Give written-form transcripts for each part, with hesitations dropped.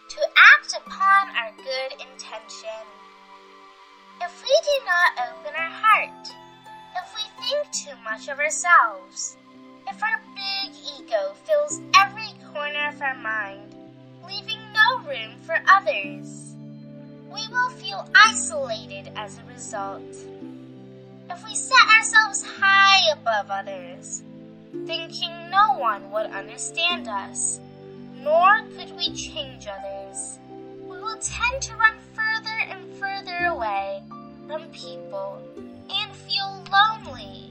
to act upon our good intention. If we do not open our heart, if we think too much of ourselves, if our big ego fills every corner of our mind, leaving no room for others, we will feel isolated as a result. If we set ourselves high above others, thinking no one would understand us, nor could we change others, we will tend to run further and further away from people and feel lonely.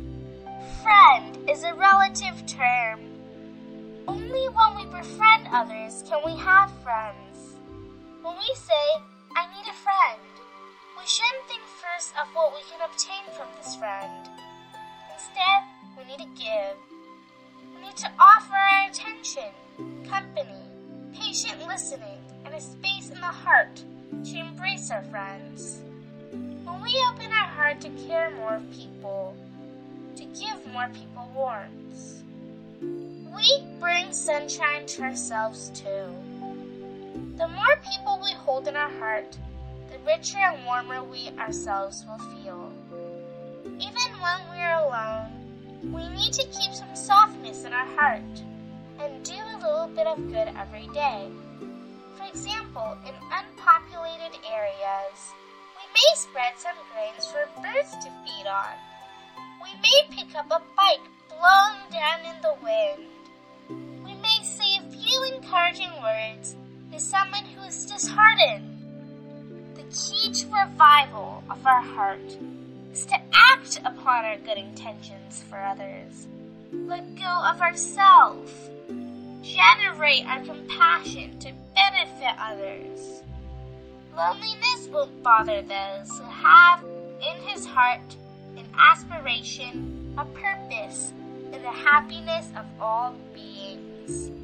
Friend is a relative term. Only when we befriend others can we have friends. When we say, I need a friend, we shouldn't think first of what we can obtain from this friend. Instead, we need to give. We need to offer our attention, company, patient listening, and a space in the heart to embrace our friends. When we open our heart to care more of people, to give more people warmth, we bring sunshine to ourselves too. The more people we hold in our heart, the richer and warmer we ourselves will feel. Even when we are alone, we need to keep some softness in our heart and do a little bit of good every day. For example, in unpopulated areas, we may spread some grains for birds to feed on. We may pick up a bike blown down in the wind. We may say a few encouraging words to someone who is disheartened. The key to revival of our heart is to act upon our good intentions for others. Let go of ourselves. Generate our compassion to benefit others. Loneliness won't bother those who have in his heart an aspiration, a purpose, and the happiness of all beings.